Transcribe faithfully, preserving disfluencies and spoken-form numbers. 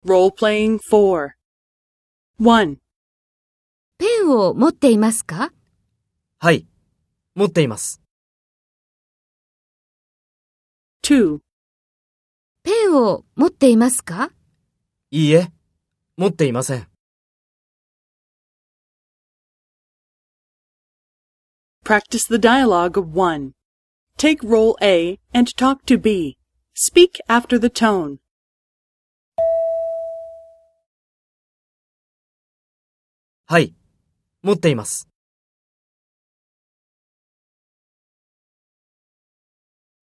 Role-playing four. one. ペンを持っていますか？ はい、持っています。 two. ペンを持っていますか？ いいえ、持っていません。 Practice the dialogue of one. Take role A and talk to B. Speak after the tone. はい、持っています。